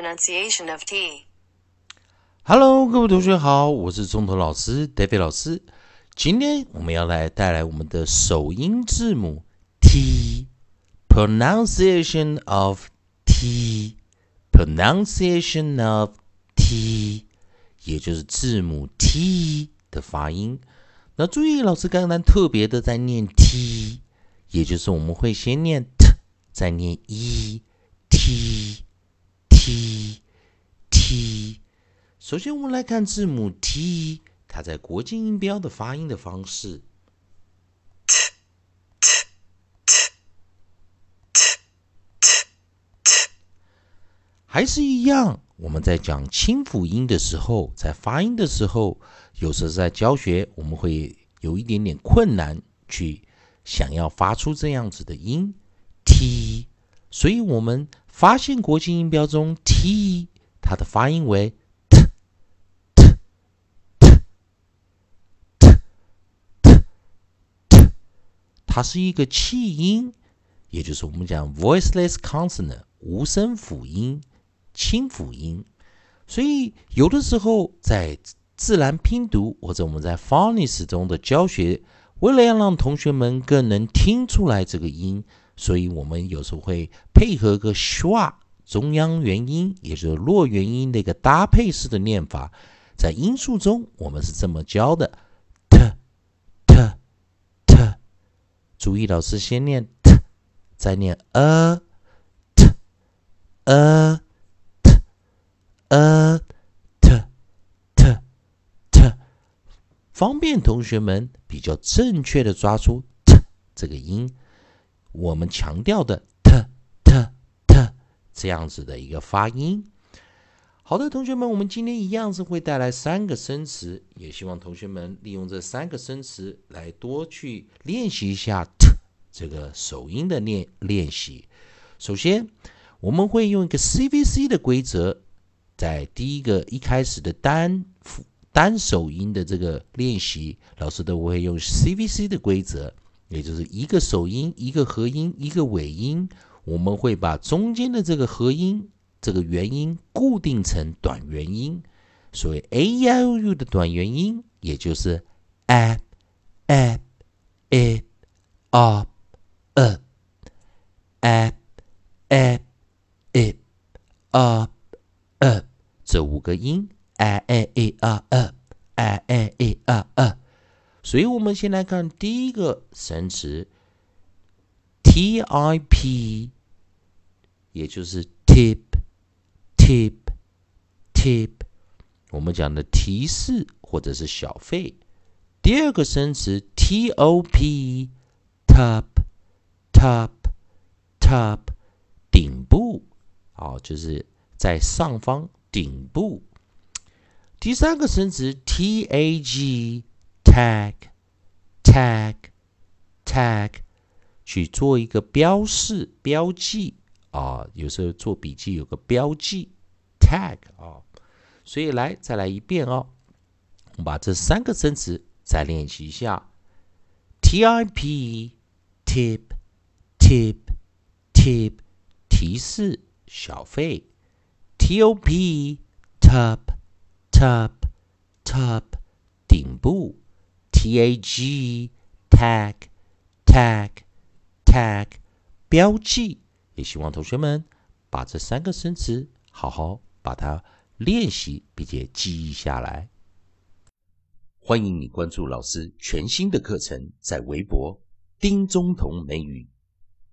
pronunciation of T. Hello， 各位同学好，我是中头老师 David 老师。今天我们要带来我们的首音字母 T， pronunciation of T， pronunciation of T， 也就是字母 T 的发音。那注意，老师刚刚特别的在念 T， 也就是我们会先念 T， 再念 E，T T T。首先，我们来看字母 T， 它在国际音标的发音的方式。还是一样，我们在讲清辅音的时候，在发音的时候，有时候在教学，我们会有一点点困难，去想要发出这样子的音 T。所以我们发现国际音标中 T， 它的发音为它是一个气音，也就是我们讲 voiceless consonant 无声辅音、清辅音。所以有的时候在自然拼读或者我们在 phonics 中的教学，为了要让同学们更能听出来这个音，所以我们有时候会配合个 schwa 中央元音，也就是落元音的一个搭配式的念法。在音素中我们是这么教的，注意，老师先念 t， 再念 t， 方便同学们比较正确的抓出 t 这个音。我们强调的 t 这样子的一个发音。好的，同学们，我们今天一样是会带来3个生词，也希望同学们利用这3个生词来多去练习一下 t 这个首音的练习。首先，我们会用一个 CVC 的规则，在第一个一开始的单首音的这个练习，老师都会用 CVC 的规则，也就是一个首音、一个合音、一个尾音，我们会把中间的这个合音这个元音固定成短元音，所谓 A E I O U 的短元音，也就是 a a a a a a a a a a 这5个音 a a a a a a a a a a。所以我们先来看第一个生词 tip， 也就是 tip。我们讲的提示或者是小费。第二个生词 top， 顶部，就是在上方顶部。第三个生词 tag， 去做一个标示标记有时候做笔记有个标记 tag 所以再来一遍我们把这3个生词再练习一下 tip tip 提示小费 top top 顶部 tag tag 标记。也希望同学们把这3个生词好好把它练习并且记忆下来。欢迎你关注老师全新的课程，在微博丁中同美语